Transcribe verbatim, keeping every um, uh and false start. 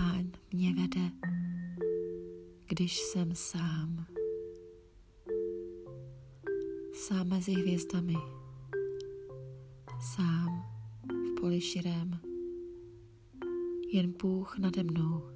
Pán mě vede, když jsem sám. Sám mezi hvězdami, sám v poli širém, jen Bůh nade mnou.